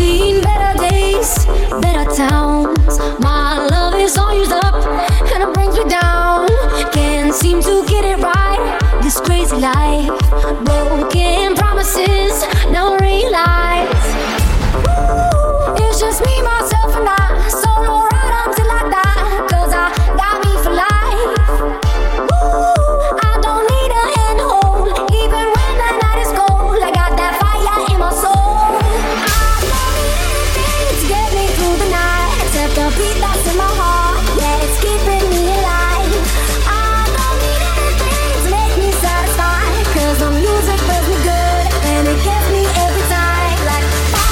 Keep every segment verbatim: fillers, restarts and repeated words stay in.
seen better days, better towns. My love is all used up and it brings me down. Can't seem to get it right, this crazy life. Broken promises, now I realize it's just me, myself and I. Solo ride until I die, cause I got me for life. I don't need a hand to hold, even when the night is cold. I got that fire in my soul. I don't need anything to get me through the night, except the beat that's in my heart, yeah, it's keeping me alive. I don't need anything to make me satisfied, cause the music feels me good, and it gets me every time. Like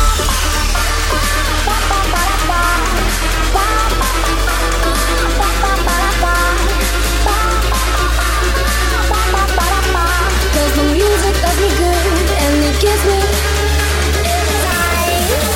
cause the music does me good, and it gives me every time.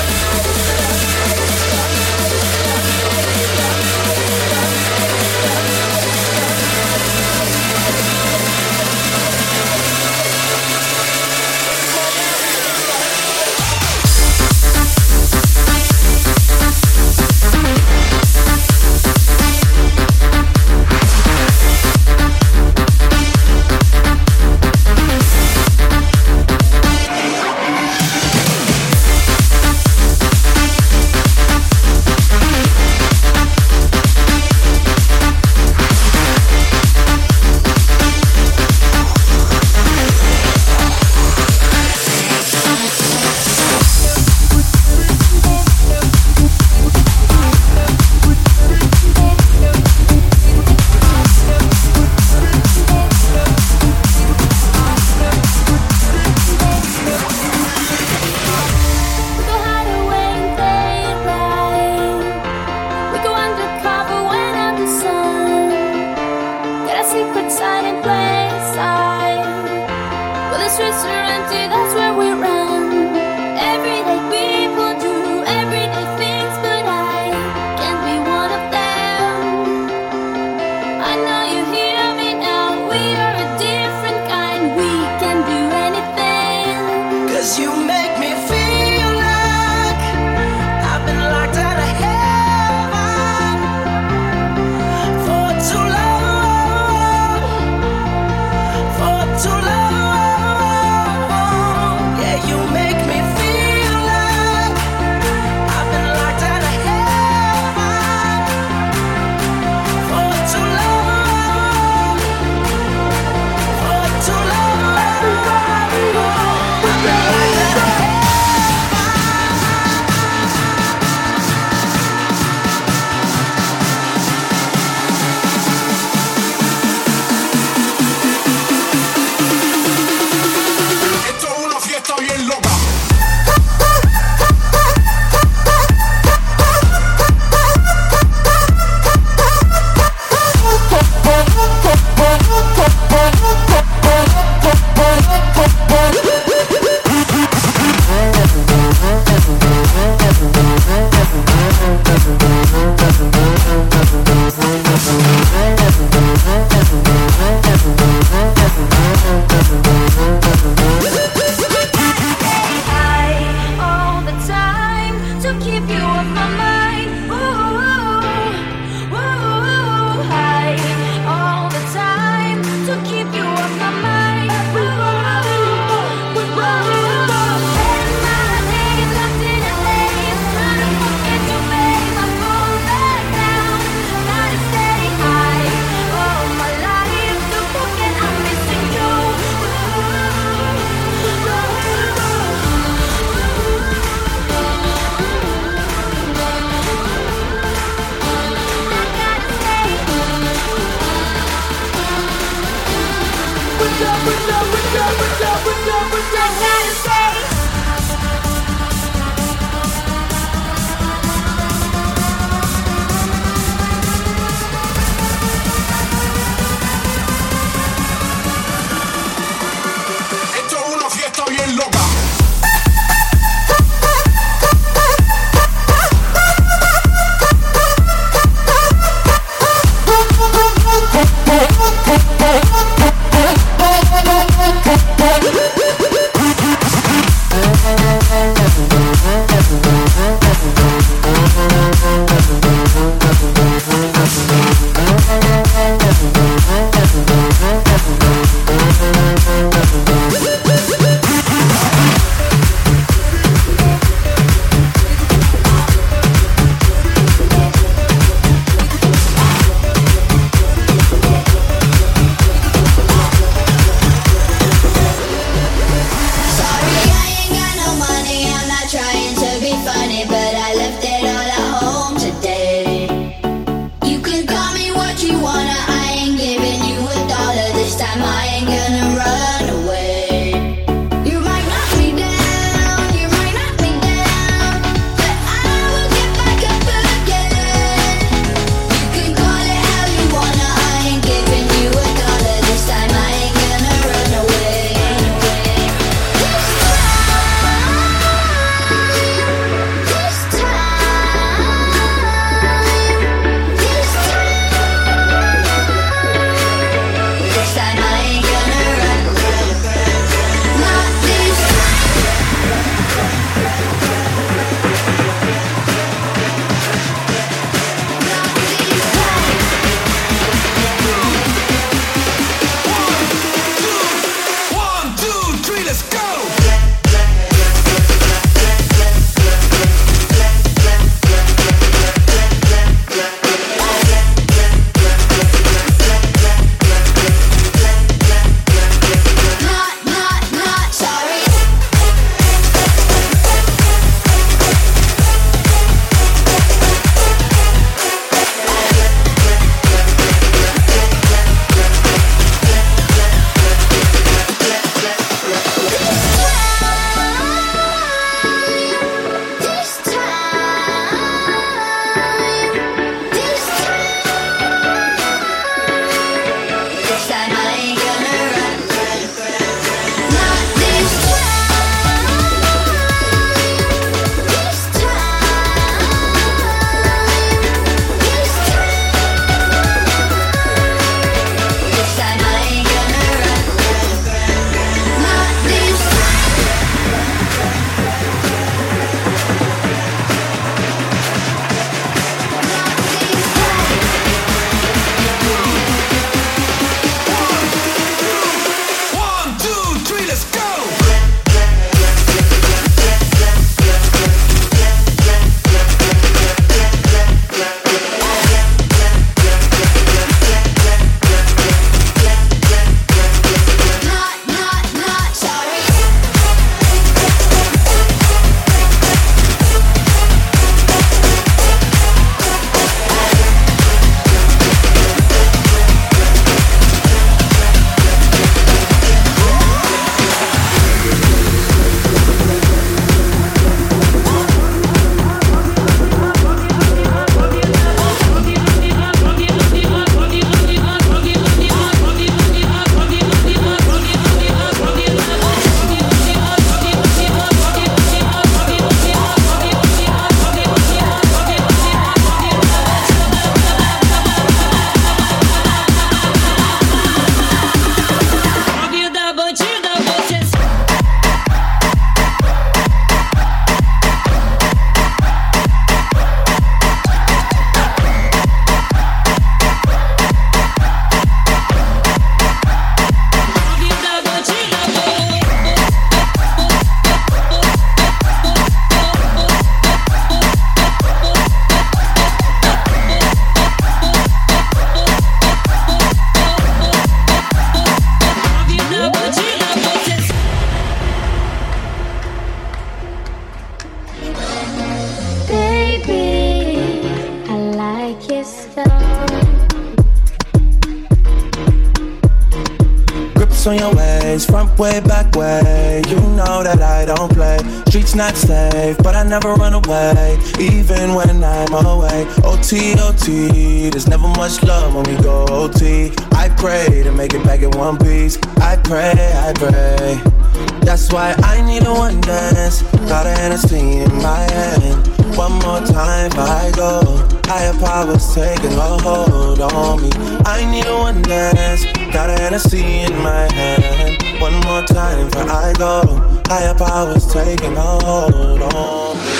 ice on your waist, front way, back way. You know that I don't play. Streets not safe, but I never run away, even when I'm away. O T, O T, there's never much love when we go O T. I pray to make it back in one piece. I pray, I pray. That's why I need a one dance. Got a Hennessy in my hand. One more time before I go. Higher powers taking a hold on me. I need a one dance. Got a Hennessy in my hand. One more time before I go. Higher powers taking a hold on me.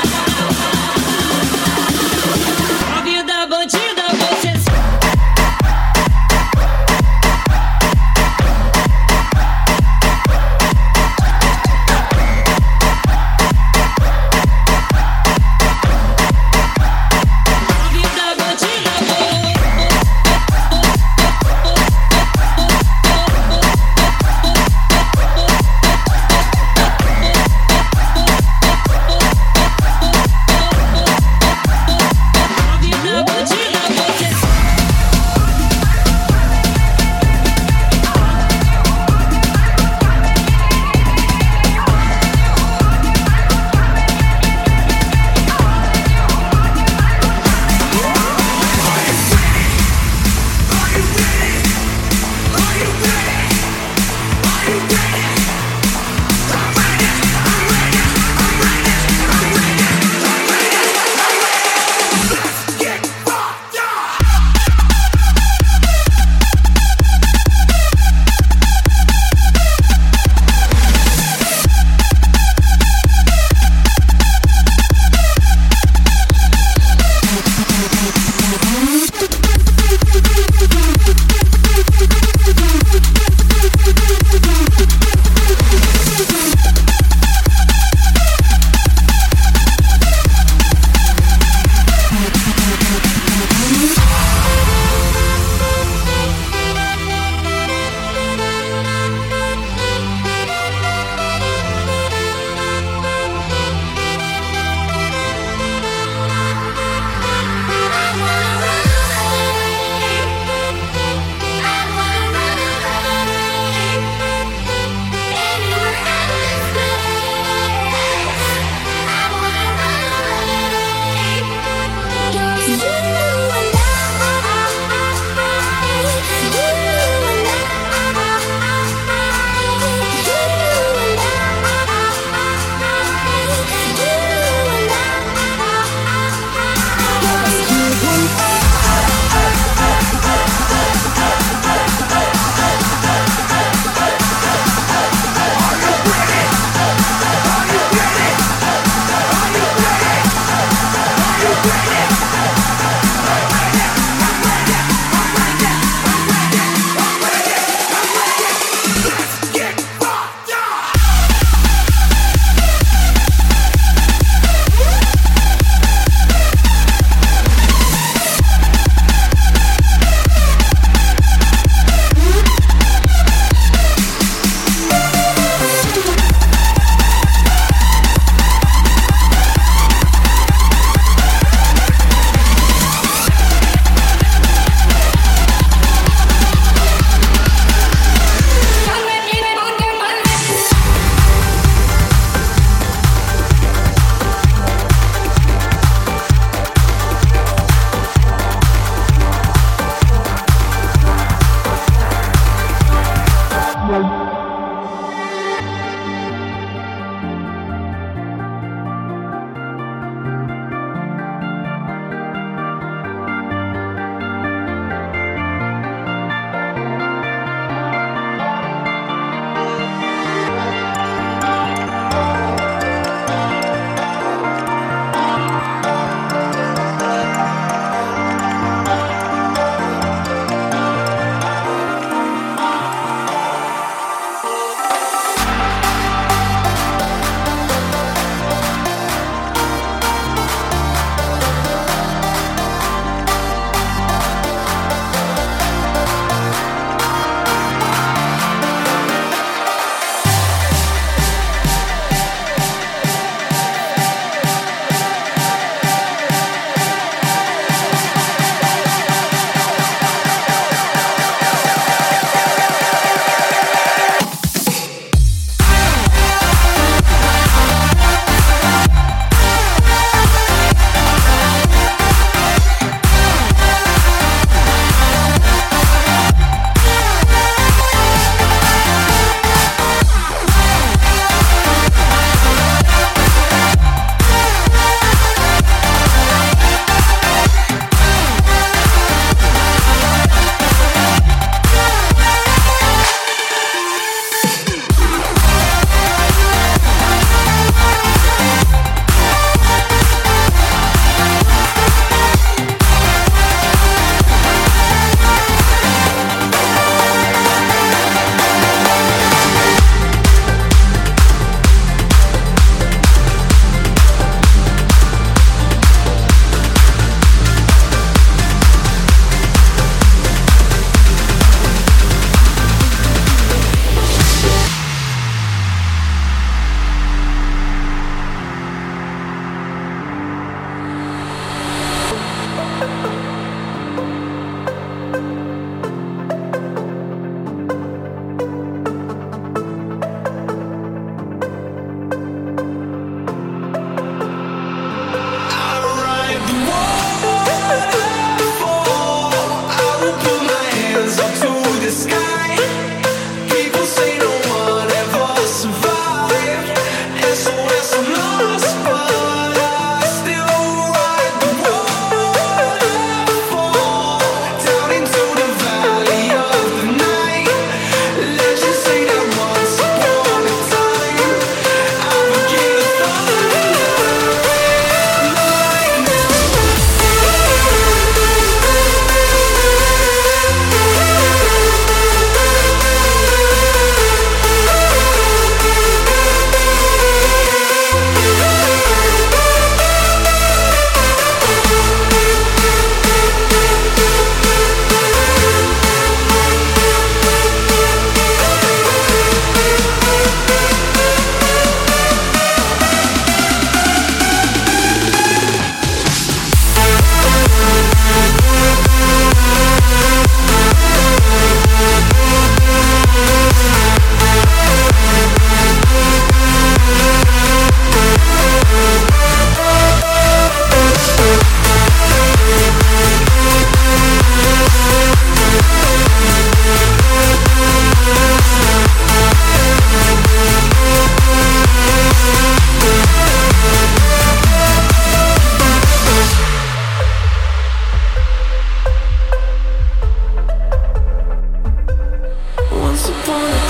A vida bandida, você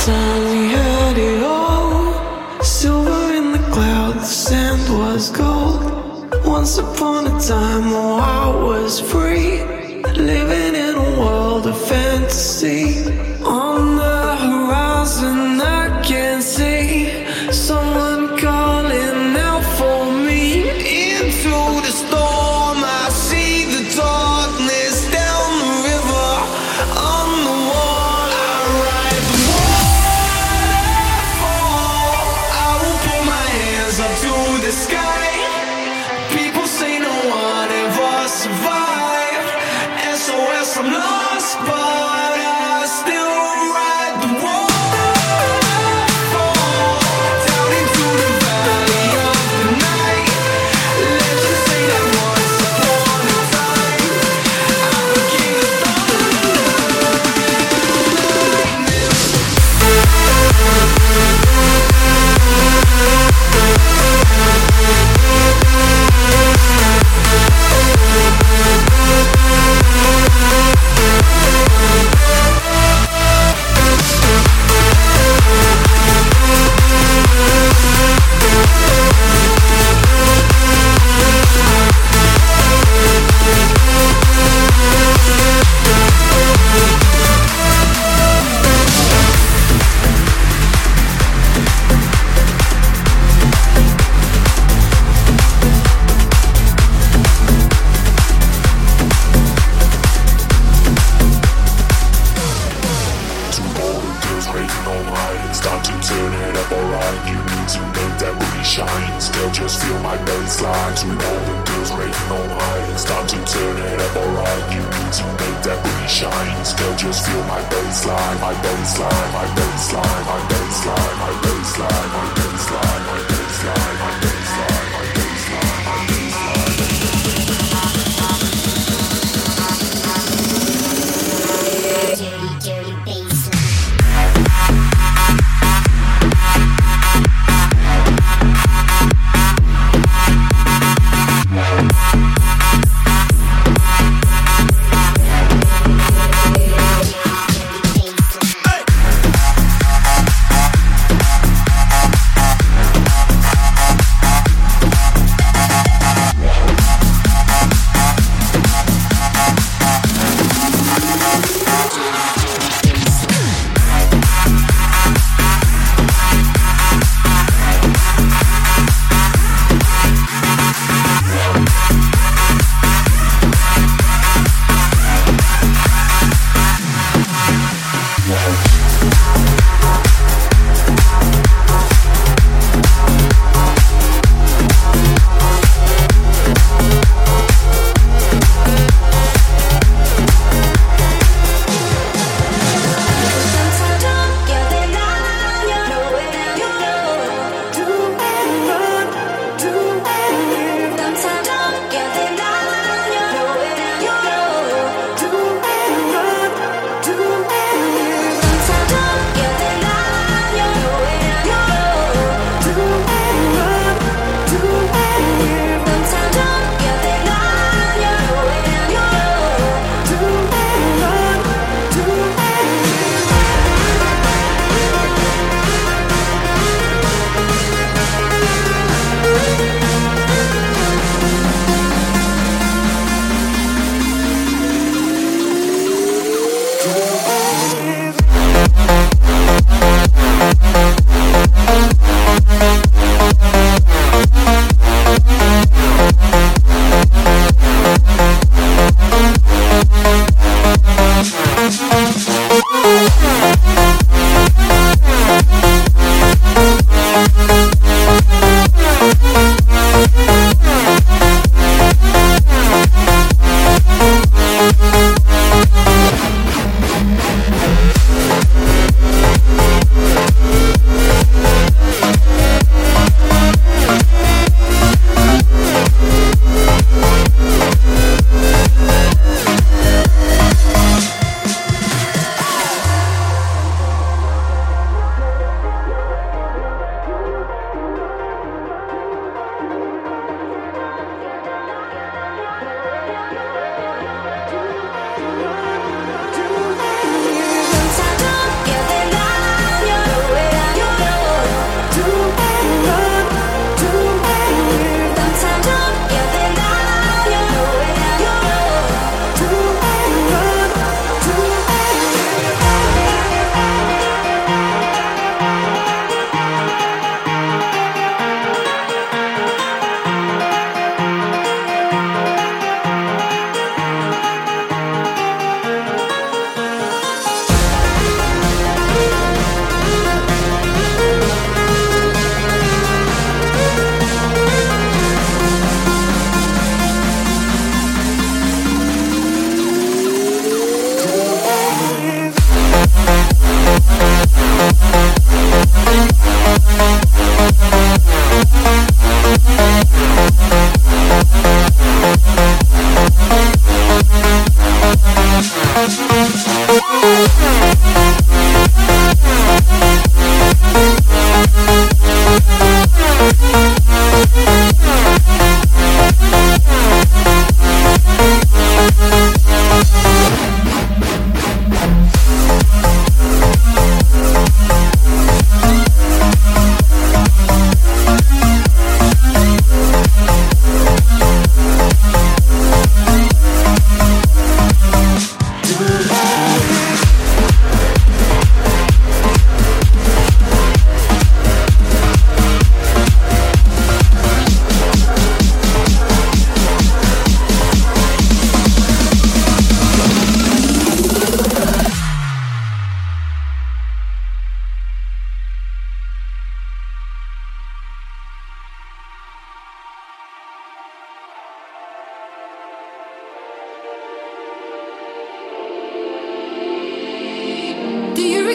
time we had it all. Silver in the clouds, the sand was gold. Once upon a time, oh, I was free, living in a world of fantasy. On the horizon, I can see someone calling out for me. Into the storm, I see the darkness down the river. On the wall, I ride the waterfall. I will put my hands up to the sky. People say no one ever survived. S O S, I'm lost, but I still ride the waterfall down into the valley of the night. Legends say that once upon a time I became the thunder.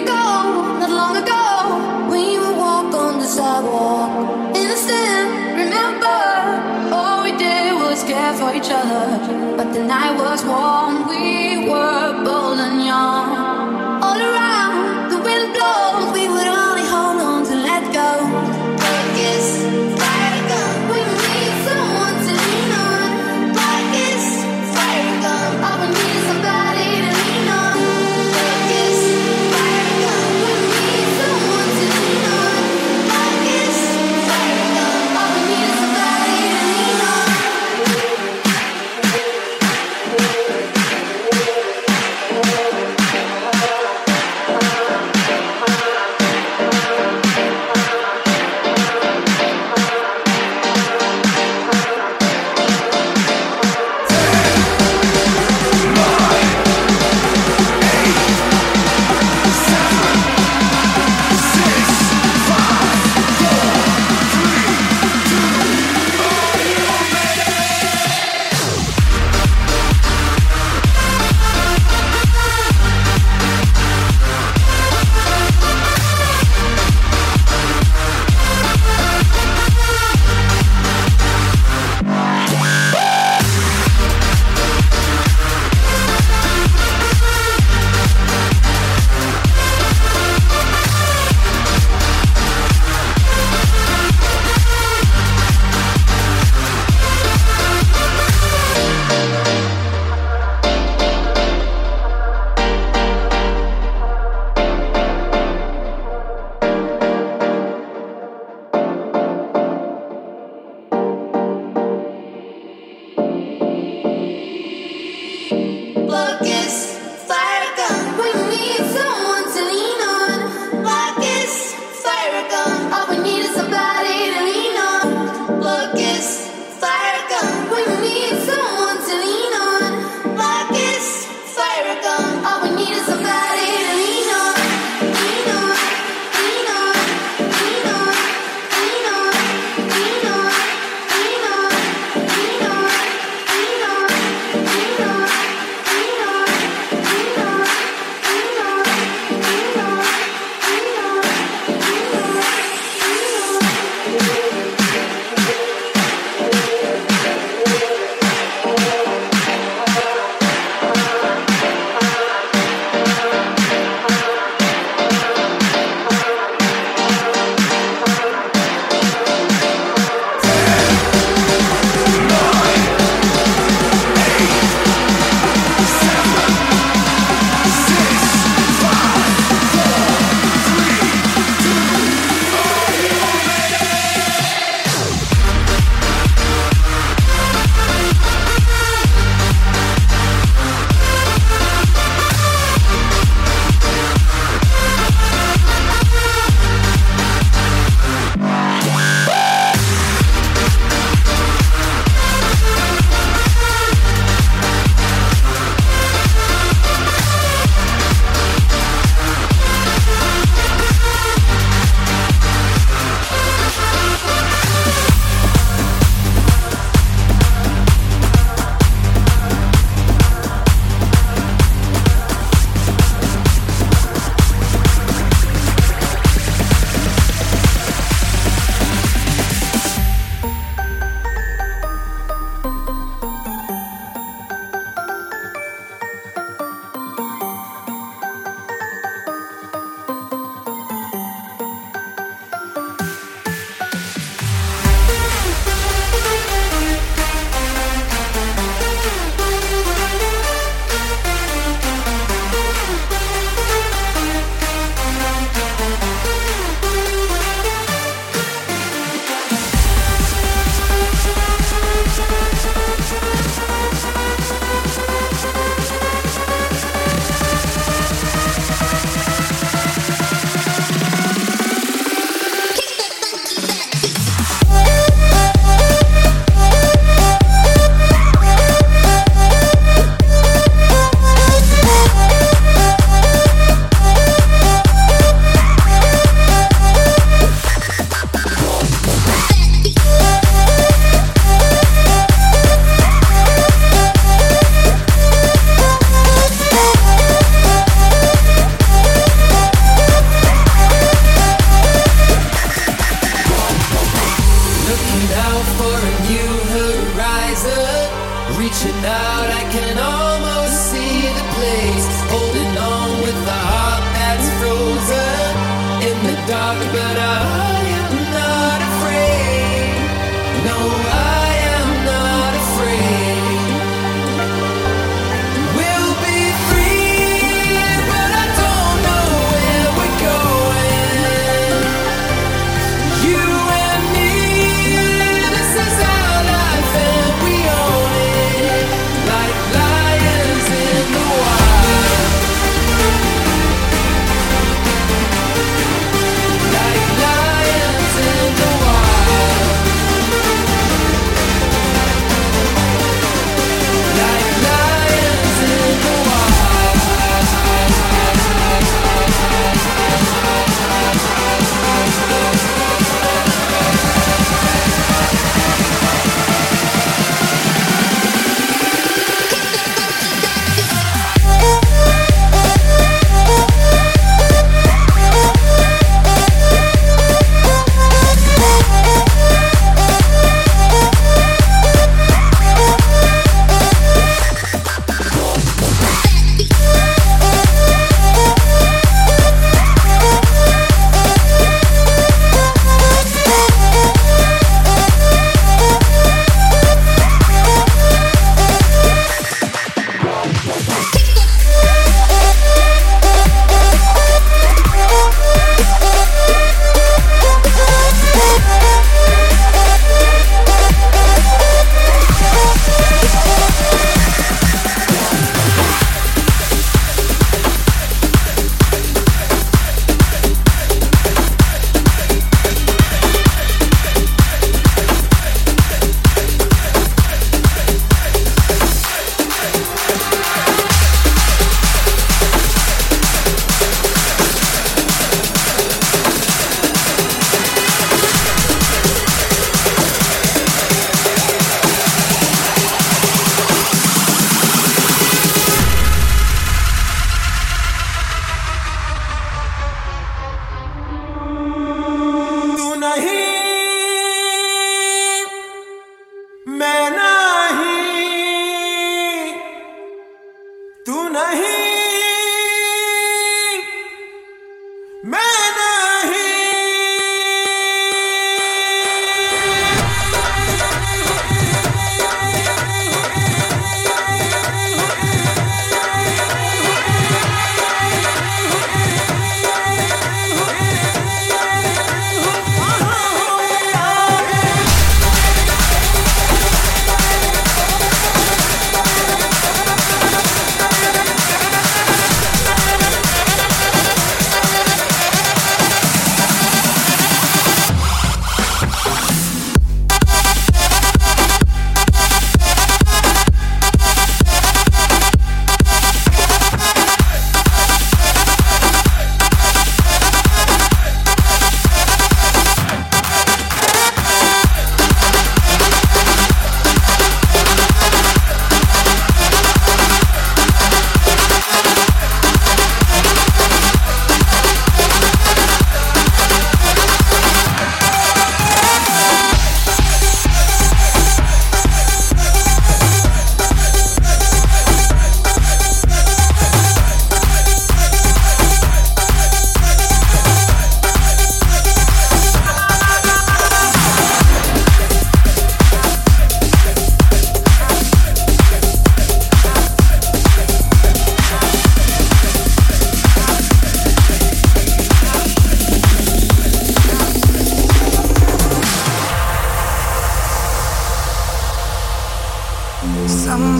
ago, not long ago, we would walk on the sidewalk. Innocent, remember, all we did was care for each other. But the night was warm, we were bold and young. All around, the wind blows, we would only hold on to let go. Kiss, fire gun, we need someone to lean on. Kiss, fire gun, all we need is somebody to lean on. Kiss, fire gun, we need someone to lean on. Kiss, fire gun, all we need is somebody to lean on.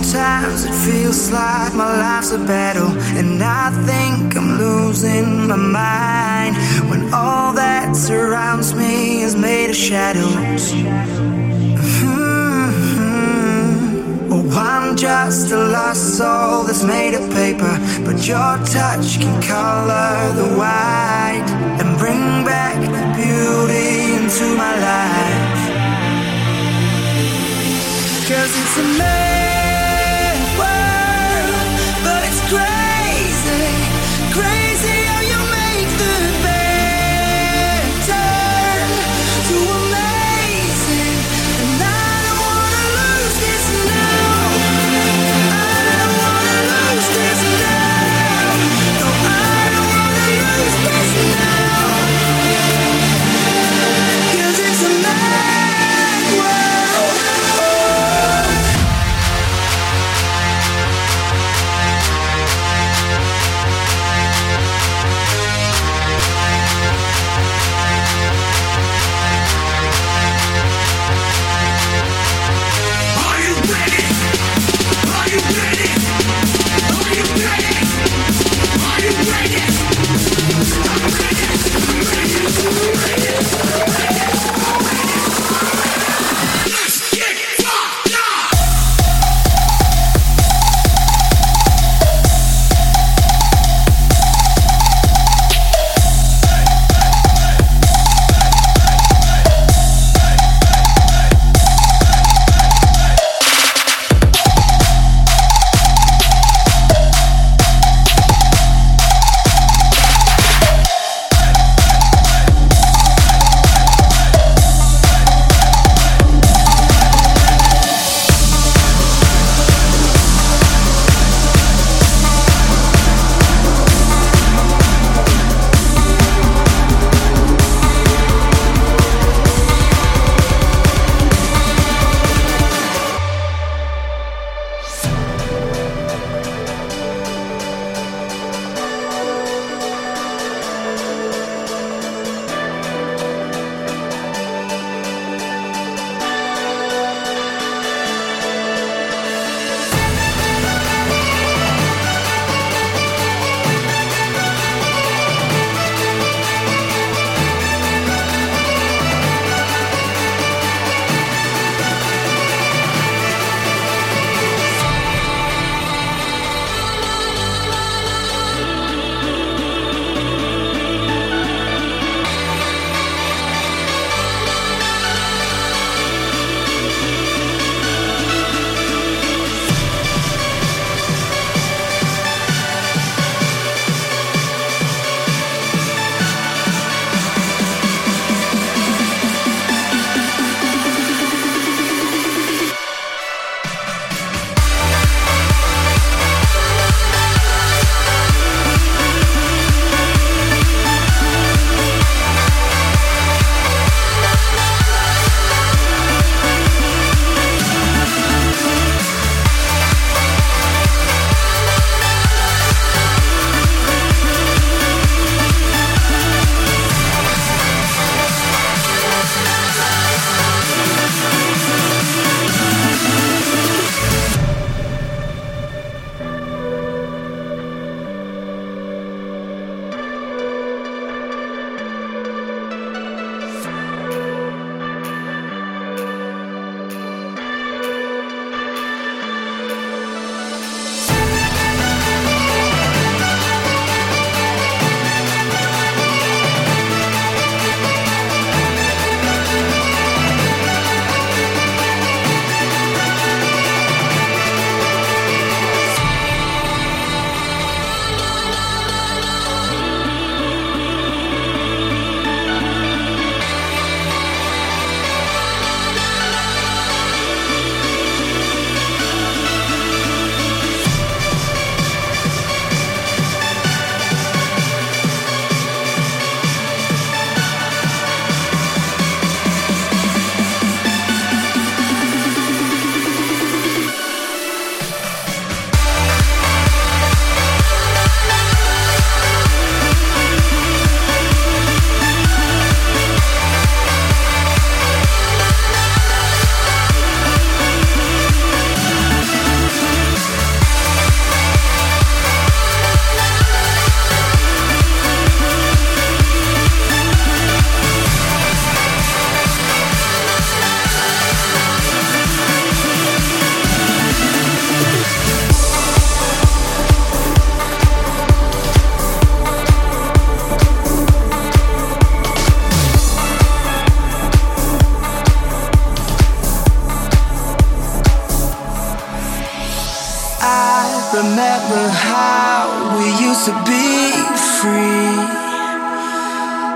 Sometimes it feels like my life's a battle, and I think I'm losing my mind when all that surrounds me is made of shadows. Mm-hmm. Oh, I'm just a lost soul that's made of paper, but your touch can color the white and bring back the beauty into my life. 'Cause it's a mad world, but it's crazy, crazy how you make the bad turn to amazing. And I don't wanna lose this now. I don't wanna lose this now. No, I don't wanna lose this now. 'Cause it's a mad world. Oh.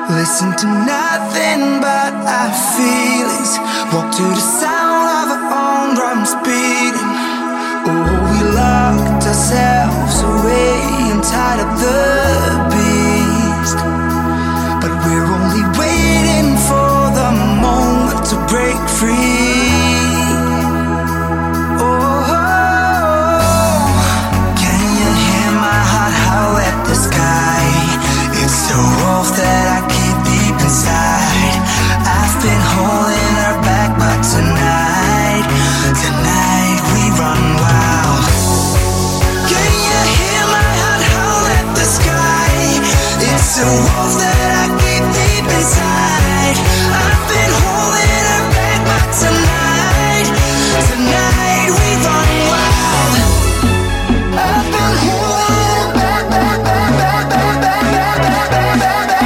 Listen to nothing but our feelings. Walk to the sound of our own drums beating. Oh, we locked ourselves away and tied up the beast. But we're only waiting for the moment to break free. Oh, can you hear my heart howl at the sky? It's the wolf that I keep deep inside. I've been holding her back, but tonight, tonight we run wild. Can you hear my heart howl at the sky? It's the wolf that I keep deep inside. I've been holding her back, but tonight, tonight we run wild. I've been holding her back, back, back, back, back, back, back, back, back, back, back.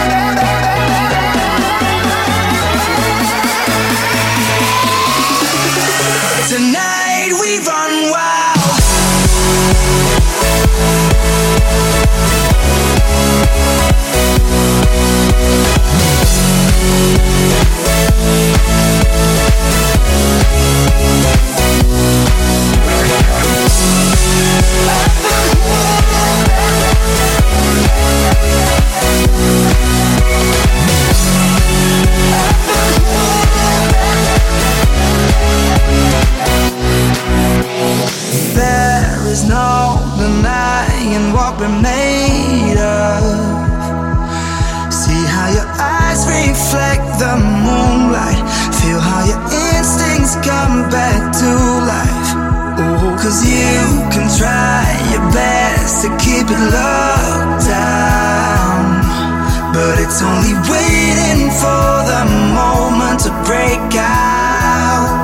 Tonight we run wild. There is no denying what we're made of. See how your eyes reflect the moonlight. Feel how your instincts come back to life. Oh, cause you can try your best to keep it locked down, but it's only waiting for the moment to break out.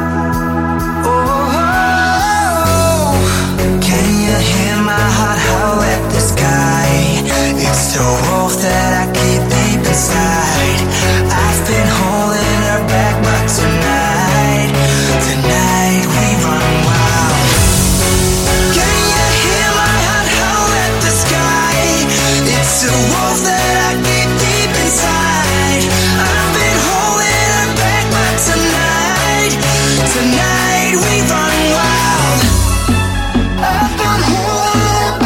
Howl at the sky. It's the wolf that I keep deep inside. I've been holding her back, but tonight, tonight we run wild. Can you hear my heart howl at the sky? It's the wolf that I keep deep inside. I've been holding her back, but tonight, tonight we run wild. I've been holding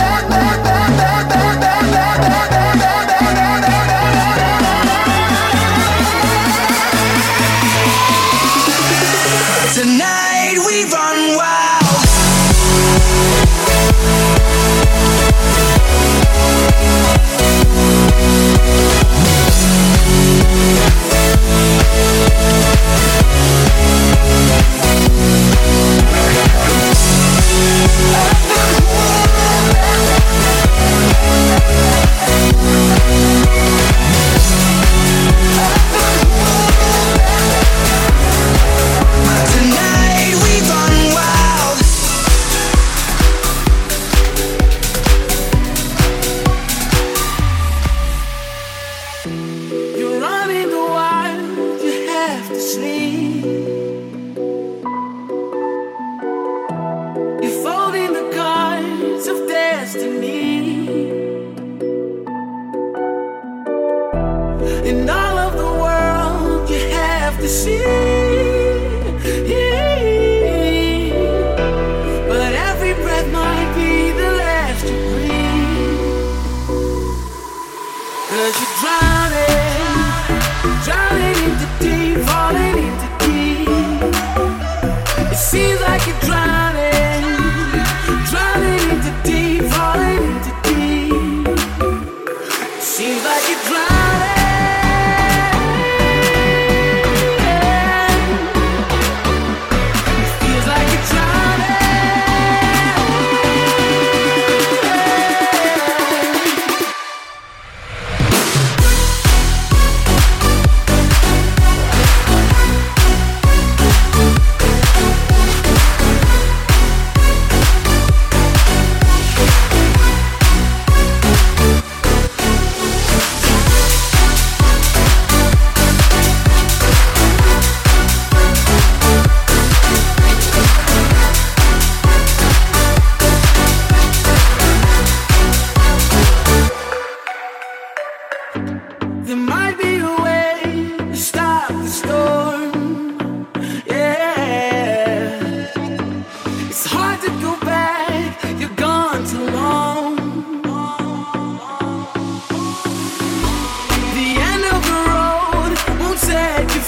tonight we run wild. Tonight we run wild. You're running the wild, you have to sleep. You're folding the cards of destiny. In all of the world, you have to see. Seems like you're drowning, drowning into deep, falling into deep. Seems like you're drowning. It feels like you're drowning.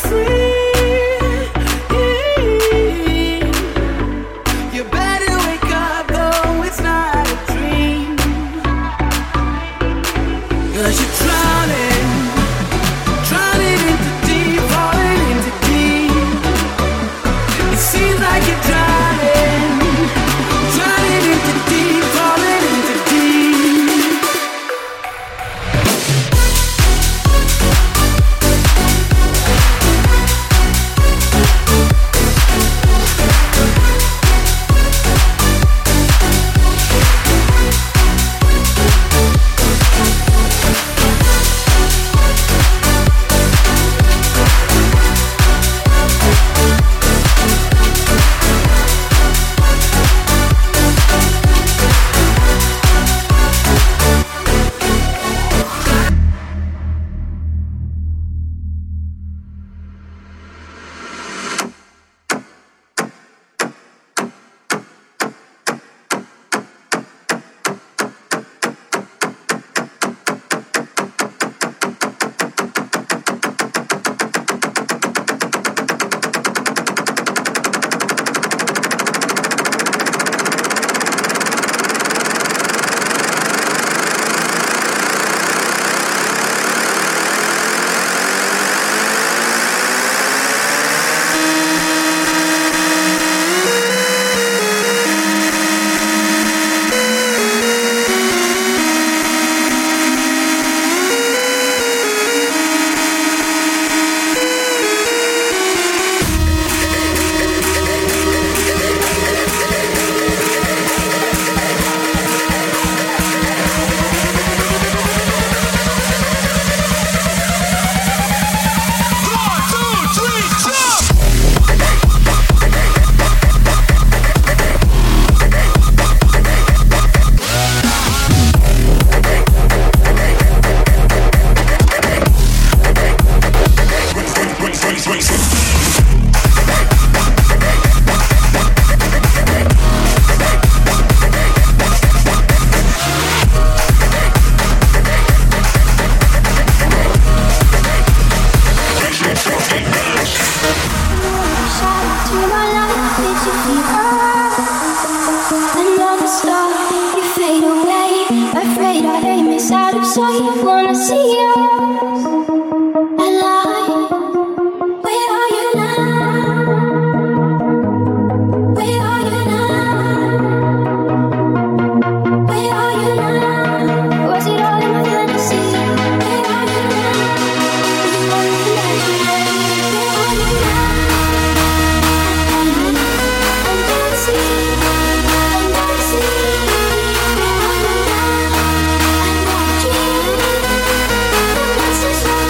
This is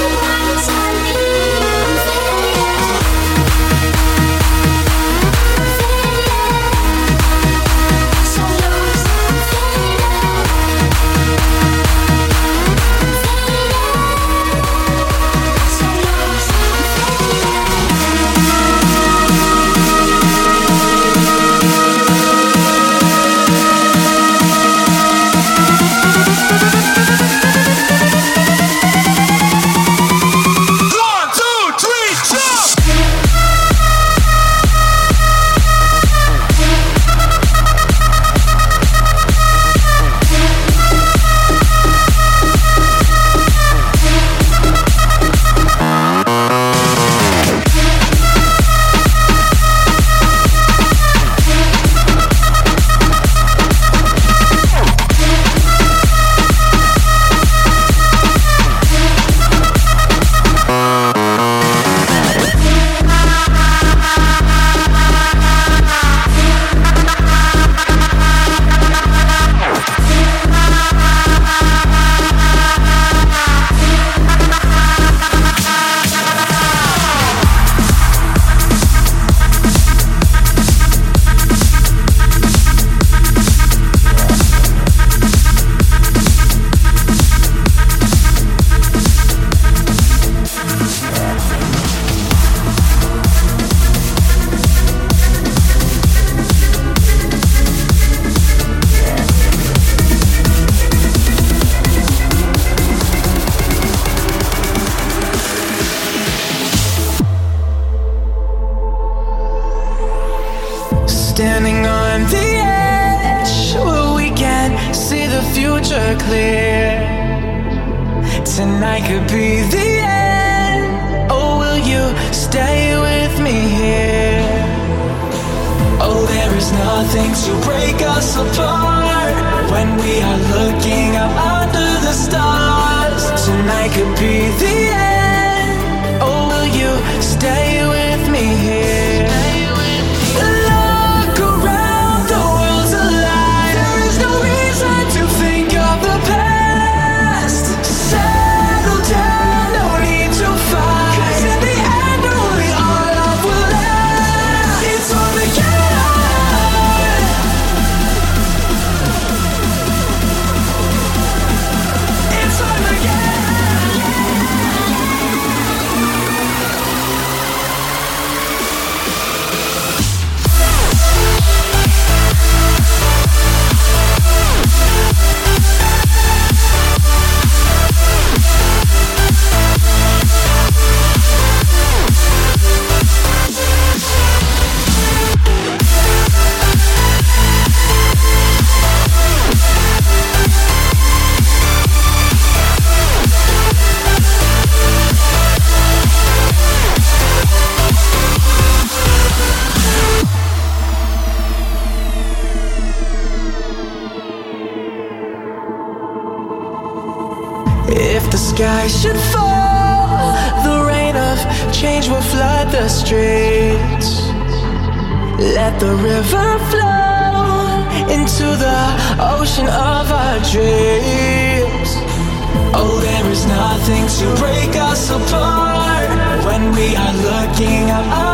could be the end, or will you stay with me here? Oh, there is nothing to break us apart when we are looking up under the stars. Tonight could be the end, or will you stay with me here? Look around, the world's alive. There is no reason to think of the past. Settle down, no need to fight, 'cause in the end only our love will last. It's Armageddon. If the sky should fall, the rain of change will flood the streets. Let the river flow into the ocean of our dreams. Oh, there is nothing to break us apart when we are looking up